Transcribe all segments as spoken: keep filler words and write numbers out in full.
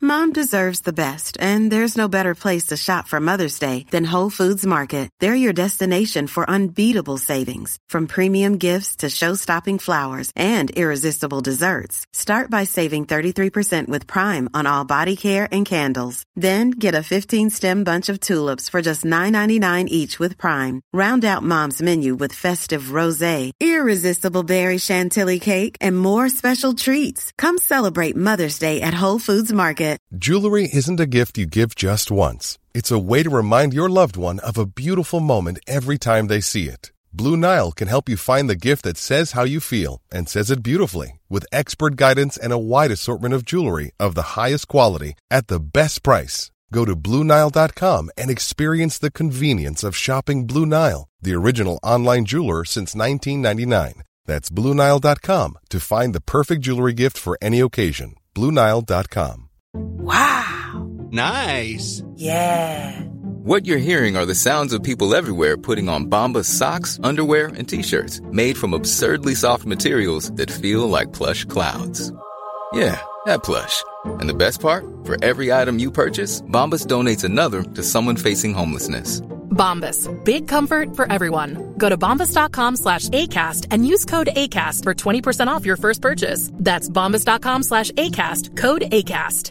Mom deserves the best, and there's no better place to shop for Mother's Day than Whole Foods Market. They're your destination for unbeatable savings, from premium gifts to show-stopping flowers and irresistible desserts. Start by saving thirty-three percent with Prime on all body care and candles. Then get a fifteen-stem bunch of tulips for just nine ninety-nine each with Prime. Round out Mom's menu with festive rosé, irresistible berry chantilly cake, and more special treats. Come celebrate Mother's Day at Whole Foods Market. Jewelry isn't a gift you give just once. It's a way to remind your loved one of a beautiful moment every time they see it. Blue Nile can help you find the gift that says how you feel and says it beautifully, with expert guidance and a wide assortment of jewelry of the highest quality at the best price. Go to Blue Nile dot com and experience the convenience of shopping Blue Nile, the original online jeweler since nineteen ninety-nine. That's Blue Nile dot com to find the perfect jewelry gift for any occasion. Blue Nile dot com. Wow! Nice! Yeah! What you're hearing are the sounds of people everywhere putting on Bombas socks, underwear, and T-shirts made from absurdly soft materials that feel like plush clouds. Yeah, that plush. And the best part? For every item you purchase, Bombas donates another to someone facing homelessness. Bombas. Big comfort for everyone. Go to bombas dot com slash ACAST and use code ACAST for twenty percent off your first purchase. That's bombas dot com slash ACAST. Code ACAST.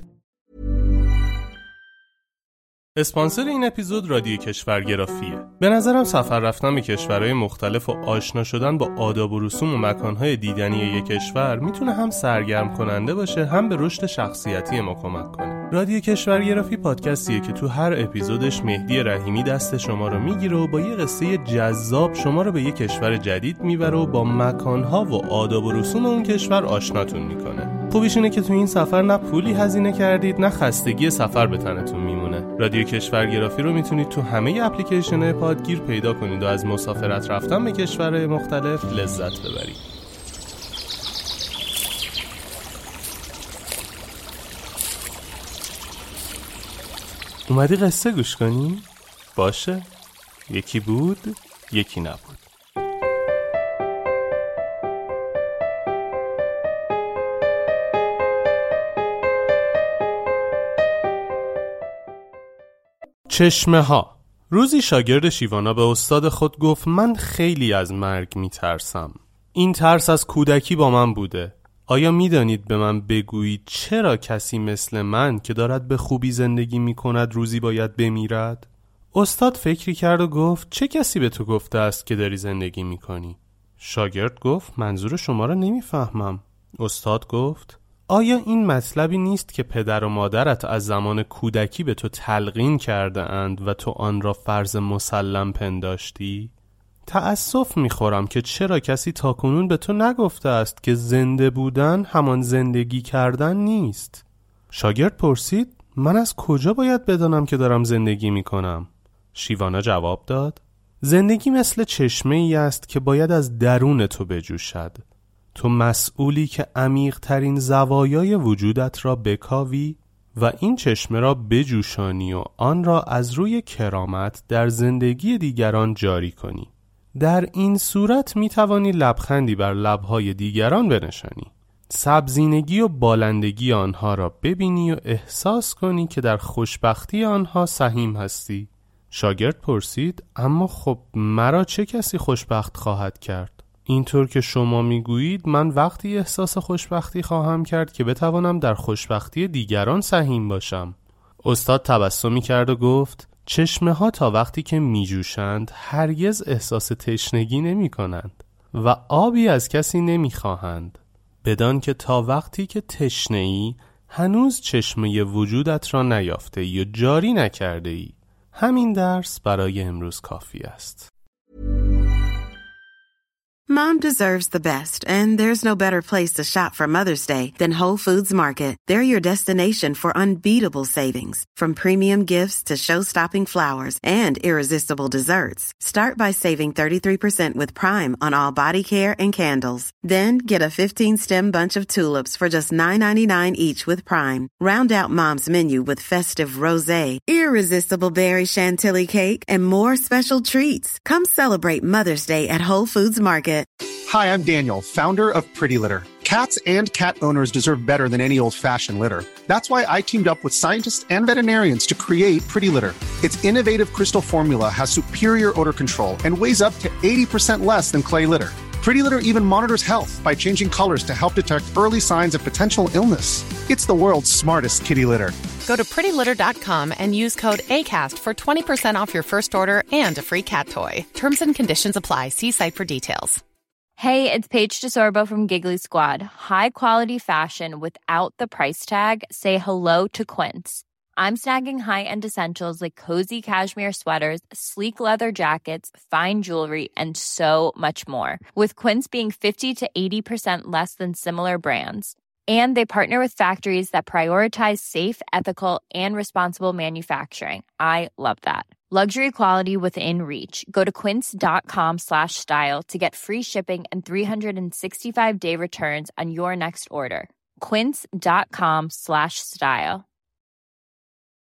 اسپانسر این اپیزود رادیو کشورگرافیه. به نظرم سفر رفتن به کشورهای مختلف و آشنا شدن با آداب و رسوم و مکانهای دیدنی یک کشور میتونه هم سرگرم کننده باشه، هم به رشد شخصیتی ما کمک کنه. رادیو کشورگرافی پادکستیه که تو هر اپیزودش مهدی رحیمی دست شما رو میگیره و با یه قصه جذاب شما رو به یک کشور جدید میبره و با مکانها و آداب و رسوم اون کشور آشناتون میکنه. خوبیش اینه که تو این سفر نه پولی هزینه کردید نه خستگی سفر به تنتون میمونه. رادیو کشورگرافی رو میتونید تو همه اپلیکیشن‌های پادگیر پیدا کنید و از مسافرت رفتن به کشورهای مختلف لذت ببرید. اومدی قصه گوش کنی؟ باشه. یکی بود، یکی نبود. چشمه ها. روزی شاگرد شیوانا به استاد خود گفت من خیلی از مرگ میترسم. این ترس از کودکی با من بوده. آیا میدانید به من بگویید چرا کسی مثل من که دارد به خوبی زندگی میکند روزی باید بمیرد؟ استاد فکری کرد و گفت چه کسی به تو گفته است که داری زندگی میکنی؟ شاگرد گفت منظور شما را نمیفهمم. استاد گفت آیا این مطلبی نیست که پدر و مادرت از زمان کودکی به تو تلقین کرده اند و تو آن را فرض مسلم پنداشتی؟ تأسف میخورم که چرا کسی تاکنون به تو نگفته است که زنده بودن همان زندگی کردن نیست. شاگرد پرسید من از کجا باید بدانم که دارم زندگی میکنم؟ شیوانا جواب داد زندگی مثل چشمه ای است که باید از درون تو بجوشد. تو مسئولی که عمیق ترین زوایای وجودت را بکاوی و این چشمه را بجوشانی و آن را از روی کرامت در زندگی دیگران جاری کنی. در این صورت می توانی لبخندی بر لبهای دیگران بنشانی، سبزینگی و بالندگی آنها را ببینی و احساس کنی که در خوشبختی آنها سهیم هستی. شاگرد پرسید اما خب مرا چه کسی خوشبخت خواهد کرد؟ اینطور که شما میگویید من وقتی احساس خوشبختی خواهم کرد که بتوانم در خوشبختی دیگران سهیم باشم. استاد تبسمی کرد و گفت چشمه ها تا وقتی که می جوشند هرگز احساس تشنگی نمی کنند و آبی از کسی نمی خواهند، بدان که تا وقتی که تشنه ای هنوز چشمه وجودت را نیافته ای و جاری نکرده ای. همین درس برای امروز کافی است. Mom deserves the best, and there's no better place to shop for Mother's Day than Whole Foods Market. They're your destination for unbeatable savings, from premium gifts to show-stopping flowers and irresistible desserts. Start by saving thirty-three percent with Prime on all body care and candles. Then get a fifteen-stem bunch of tulips for just nine ninety-nine each with Prime. Round out Mom's menu with festive rosé, irresistible berry chantilly cake, and more special treats. Come celebrate Mother's Day at Whole Foods Market. Hi, I'm Daniel, founder of Pretty Litter. Cats and cat owners deserve better than any old-fashioned litter. That's why I teamed up with scientists and veterinarians to create Pretty Litter. Its innovative crystal formula has superior odor control and weighs up to eighty percent less than clay litter. Pretty Litter even monitors health by changing colors to help detect early signs of potential illness. It's the world's smartest kitty litter. Go to pretty litter dot com and use code ACAST for twenty percent off your first order and a free cat toy. Terms and conditions apply. See site for details. Hey, it's Paige DeSorbo from Giggly Squad. High quality fashion without the price tag. Say hello to Quince. I'm snagging high-end essentials like cozy cashmere sweaters, sleek leather jackets, fine jewelry, and so much more. With Quince being fifty to eighty percent less than similar brands. And they partner with factories that prioritize safe, ethical, and responsible manufacturing. I love that. Luxury quality within reach. Go to quince.com slash style to get free shipping and three sixty-five day returns on your next order. Quince.com slash style.